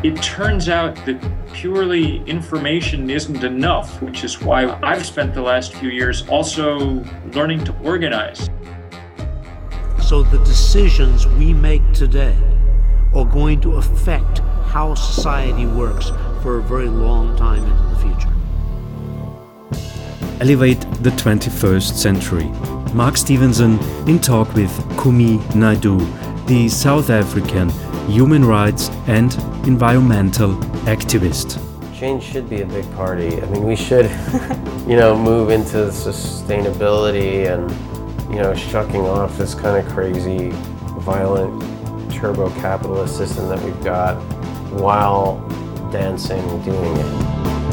It turns out that purely information isn't enough, which is why I've spent the last few years also learning to organize. So the decisions we make today are going to affect how society works for a very long time into the future. Elevate the 21st Century. Mark Stevenson in talk with Kumi Naidoo, the South African human rights and environmental activist. Change should be a big party. I mean, we should, move into sustainability and, shucking off this kind of crazy, violent, turbo-capitalist system that we've got while dancing and doing it.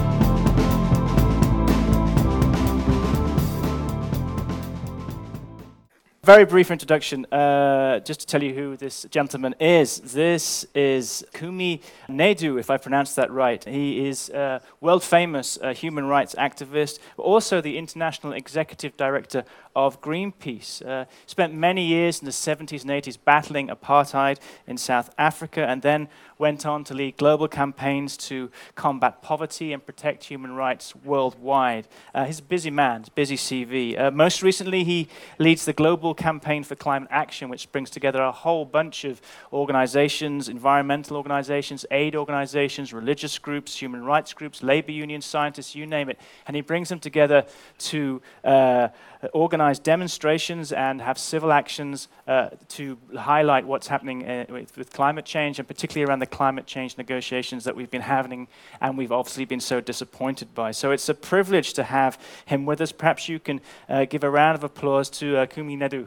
Very brief introduction, just to tell you who this gentleman is. This is Kumi Naidoo, if I pronounced that right. He is a world-famous human rights activist, but also the International Executive Director of Greenpeace. Spent many years in the 70s and 80s battling apartheid in South Africa, and then went on to lead global campaigns to combat poverty and protect human rights worldwide. He's a busy man, busy CV. Most recently, he leads the Global Campaign for Climate Action, which brings together a whole bunch of organizations, environmental organizations, aid organizations, religious groups, human rights groups, labor unions, scientists, you name it. And he brings them together to organize demonstrations and have civil actions to highlight what's happening with climate change, and particularly around the climate change negotiations that we've been having and we've obviously been so disappointed by. So it's a privilege to have him with us. Perhaps you can give a round of applause to Kumi Naidoo.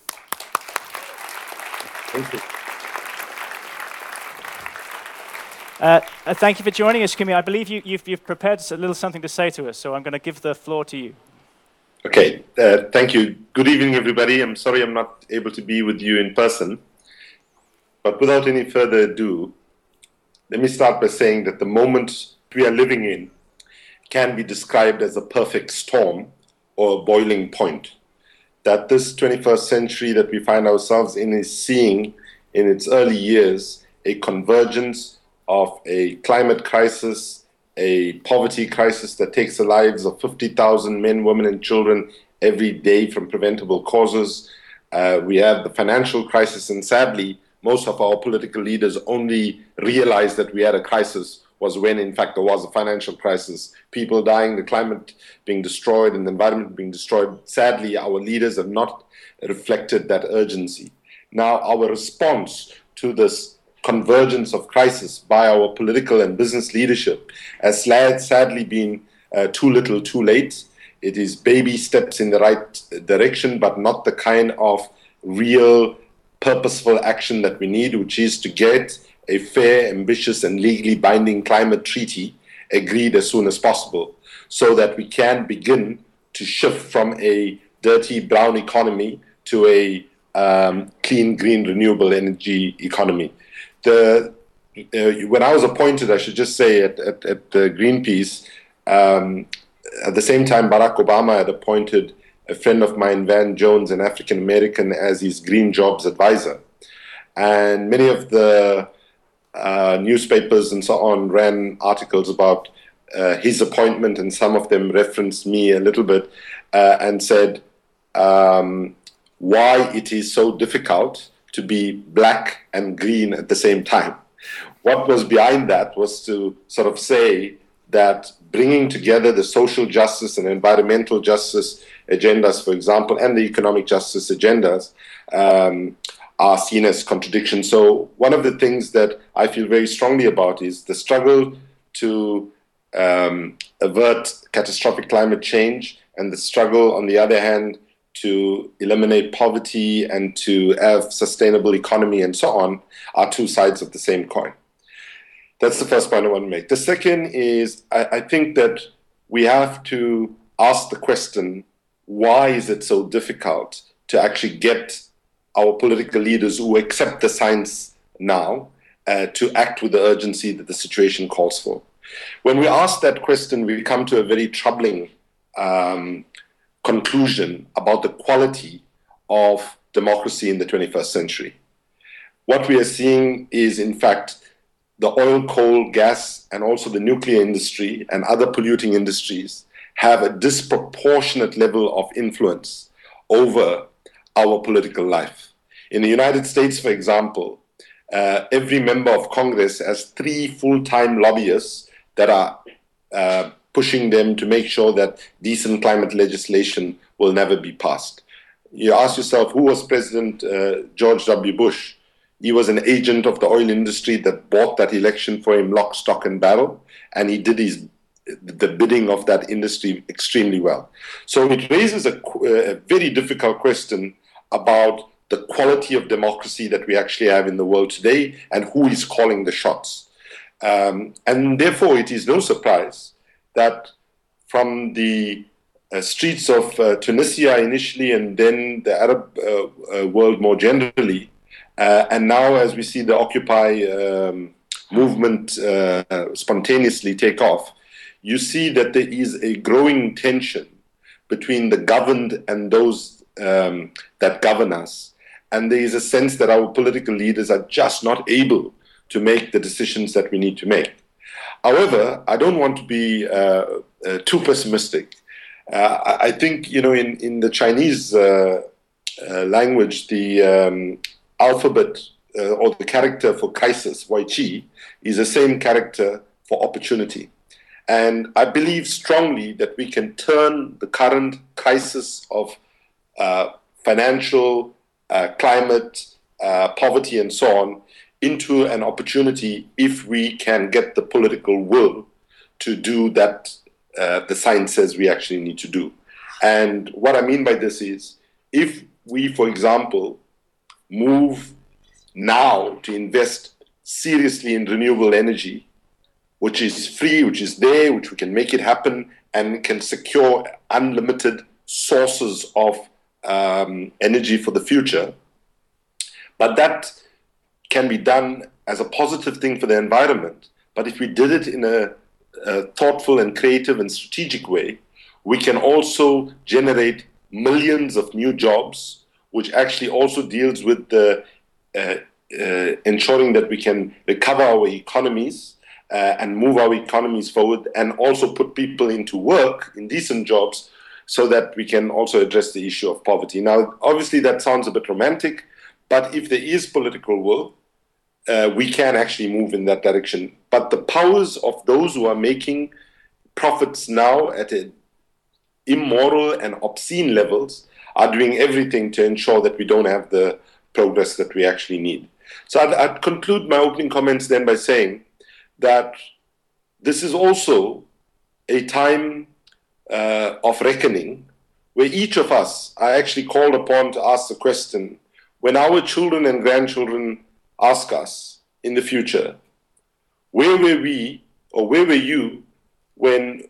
Thank you. Thank you for joining us, Kumi. I believe you've prepared a little something to say to us, so I'm going to give the floor to you. Okay, thank you. Good evening, everybody. I'm sorry I'm not able to be with you in person, but without any further ado, let me start by saying that the moment we are living in can be described as a perfect storm or a boiling point. That this 21st century that we find ourselves in is seeing in its early years a convergence of a climate crisis, a poverty crisis that takes the lives of 50,000 men, women, and children every day from preventable causes. We have the financial crisis, and sadly, most of our political leaders only realized that we had a crisis was when, in fact, there was a financial crisis. People dying, the climate being destroyed, and the environment being destroyed. Sadly, our leaders have not reflected that urgency. Now, our response to this convergence of crisis by our political and business leadership has sadly been too little, too late. It is baby steps in the right direction, but not the kind of real purposeful action that we need, which is to get a fair, ambitious, and legally binding climate treaty agreed as soon as possible, so that we can begin to shift from a dirty brown economy to a clean, green, renewable energy economy. When I was appointed, I should just say, at Greenpeace, at the same time Barack Obama had appointed a friend of mine, Van Jones, an African American, as his Green Jobs advisor. And many of the newspapers and so on ran articles about his appointment, and some of them referenced me a little bit and said why it is so difficult to be black and green at the same time. What was behind that was to sort of say that bringing together the social justice and environmental justice agendas, for example, and the economic justice agendas are seen as contradictions. So one of the things that I feel very strongly about is the struggle to avert catastrophic climate change, and the struggle, on the other hand, to eliminate poverty and to have sustainable economy and so on, are two sides of the same coin. That's the first point I want to make. The second is, I think that we have to ask the question, why is it so difficult to actually get our political leaders who accept the science now to act with the urgency that the situation calls for? When we ask that question, we come to a very troubling conclusion about the quality of democracy in the 21st century. What we are seeing is, in fact, the oil, coal, gas, and also the nuclear industry and other polluting industries have a disproportionate level of influence over our political life. In the United States, for example, every member of Congress has 3 full-time lobbyists that are pushing them to make sure that decent climate legislation will never be passed. You ask yourself, who was President George W. Bush? He was an agent of the oil industry that bought that election for him lock, stock, and barrel, and he did the bidding of that industry extremely well. So it raises a very difficult question about the quality of democracy that we actually have in the world today and who is calling the shots. And therefore, it is no surprise that from the streets of Tunisia initially and then the Arab world more generally, and now as we see the Occupy movement spontaneously take off, you see that there is a growing tension between the governed and those that govern us. And there is a sense that our political leaders are just not able to make the decisions that we need to make. However, I don't want to be too pessimistic. I think, in the Chinese language, the alphabet or the character for crisis, Wai Chi, is the same character for opportunity. And I believe strongly that we can turn the current crisis of financial, climate, poverty, and so on into an opportunity if we can get the political will to do that the science says we actually need to do. And what I mean by this is, if we, for example, move now to invest seriously in renewable energy, which is free, which is there, which we can make it happen, and can secure unlimited sources of energy for the future. But that can be done as a positive thing for the environment. But if we did it in a thoughtful and creative and strategic way, we can also generate millions of new jobs, which actually also deals with the ensuring that we can recover our economies and move our economies forward, and also put people into work in decent jobs so that we can also address the issue of poverty. Now, obviously that sounds a bit romantic, but if there is political will, we can actually move in that direction. But the powers of those who are making profits now at immoral and obscene levels are doing everything to ensure that we don't have the progress that we actually need. So I'd conclude my opening comments then by saying that this is also a time of reckoning where each of us are actually called upon to ask the question, when our children and grandchildren ask us in the future, where were we or where were you when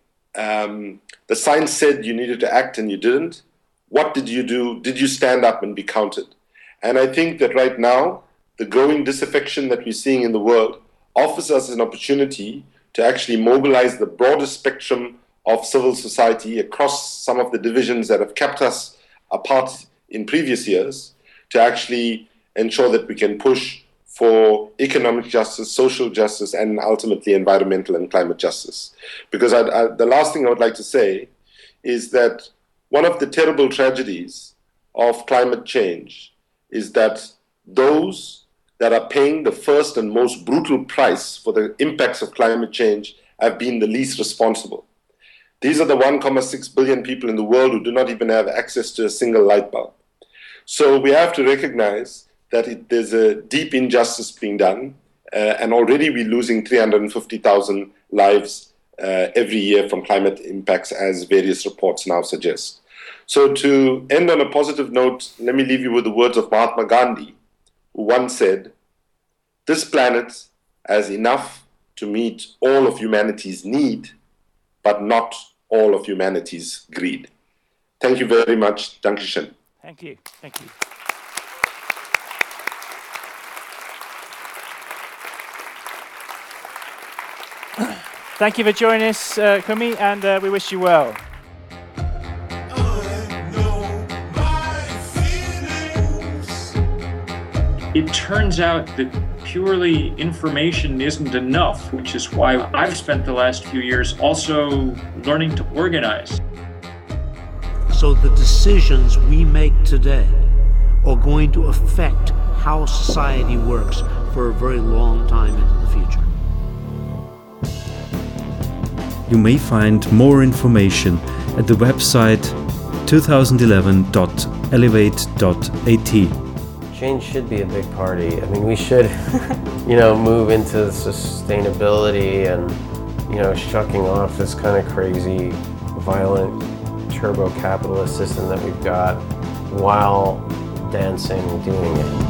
the science said you needed to act and you didn't? What did you do? Did you stand up and be counted? And I think that right now, the growing disaffection that we're seeing in the world offers us an opportunity to actually mobilize the broader spectrum of civil society across some of the divisions that have kept us apart in previous years, to actually ensure that we can push for economic justice, social justice, and ultimately environmental and climate justice. Because the last thing I would like to say is that one of the terrible tragedies of climate change is that those that are paying the first and most brutal price for the impacts of climate change have been the least responsible. These are the 1.6 billion people in the world who do not even have access to a single light bulb. So we have to recognize that there's a deep injustice being done, and already we're losing 350,000 lives every year from climate impacts, as various reports now suggest. So to end on a positive note, let me leave you with the words of Mahatma Gandhi, who once said, "This planet has enough to meet all of humanity's need, but not all of humanity's greed." Thank you very much. Dankeschön. Thank you. Thank you. Thank you for joining us, Kumi, and we wish you well. It turns out that purely information isn't enough, which is why I've spent the last few years also learning to organize. So the decisions we make today are going to affect how society works for a very long time into the future. You may find more information at the website 2011.elevate.at. Change should be a big party. I mean, we should, move into sustainability and, shucking off this kind of crazy, violent, turbo-capitalist system that we've got while dancing and doing it.